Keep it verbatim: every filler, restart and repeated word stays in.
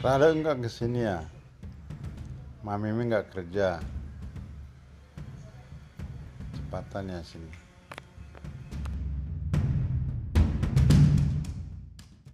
Rada enggak kesini ya? Mami enggak kerja. Cepatan ya sini.